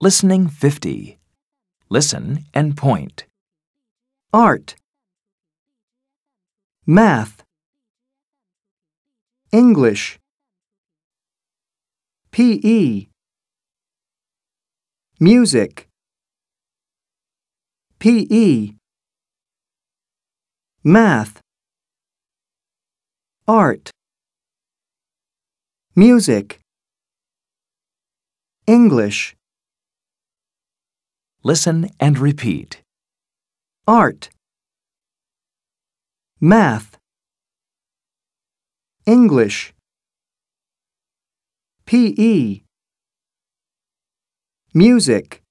Listening 50. Listen and point. Art, Math, English, PE, Music, PE, Math, Art, Music, English. Listen and repeat. Art, Math, English, PE, Music,